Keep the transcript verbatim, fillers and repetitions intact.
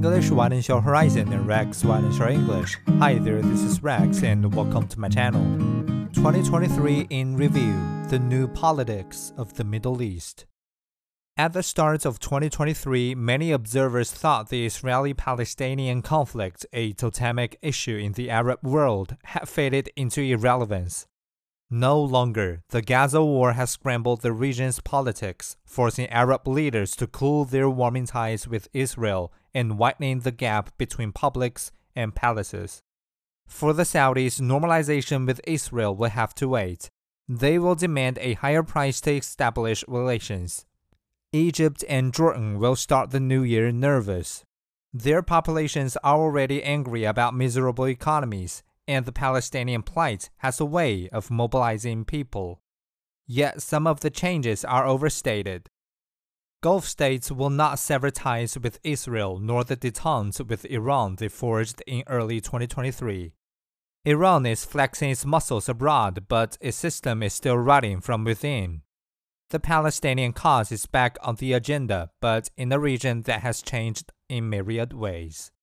English, widens your horizon, and Rex widens your English. Hi there, this is Rex, and welcome to my channel. twenty twenty-three in Review, the new politics of the Middle East. At the start of twenty twenty-three, many observers thought the Israeli-Palestinian conflict, a totemic issue in the Arab world, had faded into irrelevance. No longer, the Gaza war has scrambled the region's politics, forcing Arab leaders to cool their warming ties with Israel and widening the gap between publics and palaces. For the Saudis, normalization with Israel will have to wait. They will demand a higher price to establish relations. Egypt and Jordan will start the new year nervous. Their populations are already angry about miserable economies, and the Palestinian plight has a way of mobilizing people. Yet some of the changes are overstated. Gulf states will not sever ties with Israel nor the détente with Iran they forged in early twenty twenty-three. Iran is flexing its muscles abroad, but its system is still rotting from within. The Palestinian cause is back on the agenda, but in a region that has changed in myriad ways.